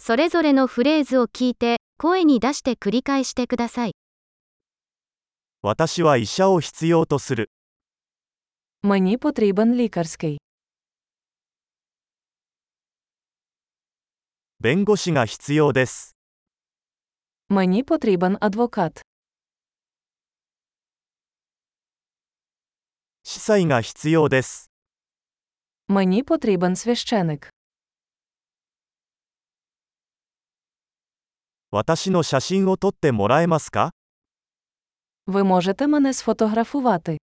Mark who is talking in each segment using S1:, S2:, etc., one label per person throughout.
S1: それぞれのフレーズを聞いて、声に出して繰り返してください。
S2: 私は医者を必要とする。
S3: Мені потрібен лікарський.
S2: 弁護士が必要です。
S3: Мені потрібен адвокат.
S2: 司祭が必要です。
S3: Мені потрібен священик.
S2: 私の写真を撮ってもらえますか？
S3: Ви можете мене сфотографувати.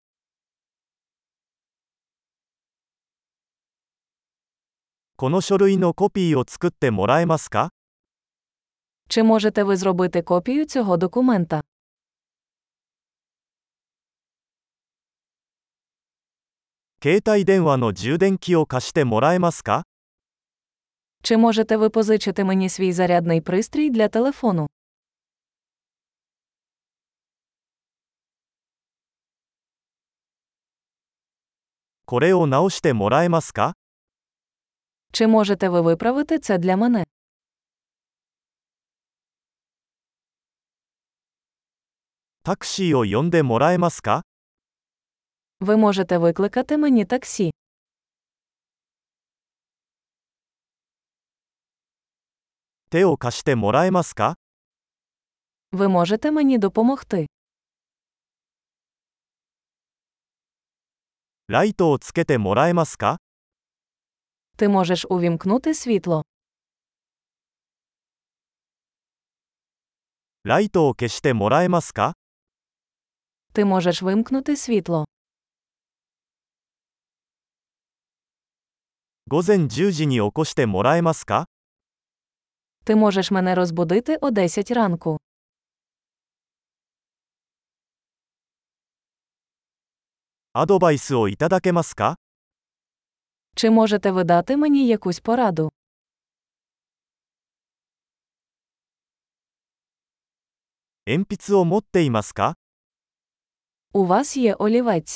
S2: この書類のコピーを作ってもらえますか？
S3: Чи можете ви зробити копію цього документа?
S2: 携帯電話の充電器を貸してもらえますか？
S3: Чи можете ви позичити мені свій зарядний пристрій для телефону?
S2: これを直してもらえますか？
S3: Чи можете ви виправити це для мене?
S2: タクシーを呼んでもらえますか？
S3: Ви можете викликати мені таксі.
S2: 手を貸してもらえますか？
S3: Ви можете мені допомогти.
S2: ライトをつけてもらえますか？
S3: Ти можеш увімкнути світло.
S2: ライトを消してもらえますか？
S3: Ти можеш вимкнути світло.
S2: 午前10時に起こしてもらえますか？
S3: Ти можеш мене розбудити о 10 ранку.
S2: アドバイスをいただけますか？
S3: Чи можете ви дати мені якусь пораду?
S2: 鉛筆を持っていますか？
S3: У вас є олівець.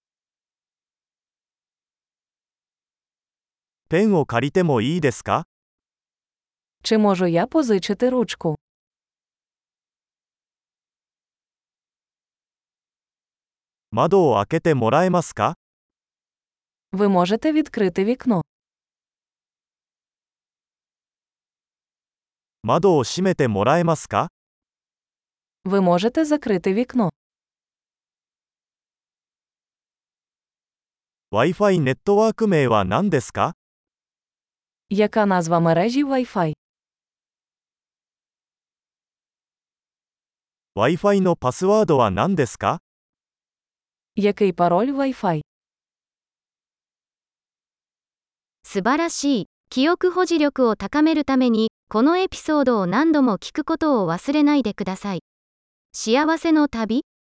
S2: ペンを借りてもいいですか？
S3: Чи можу я позичити ручку?
S2: 窓を開けてもらえますか？
S3: Ви можете відкрити вікно.
S2: 窓を閉めてもらえますか？
S3: Ви можете закрити вікно.
S2: Wi-Fi ネットワーク名は何ですか？
S3: Яка назва мережі Wi-Fi?
S2: Wi-Fi のパスワードは何ですか？
S3: Який пароль Wi-Fi?
S1: 素晴らしい。記憶保持力を高めるために、このエピソードを何度も聞くことを忘れないでください。幸せの旅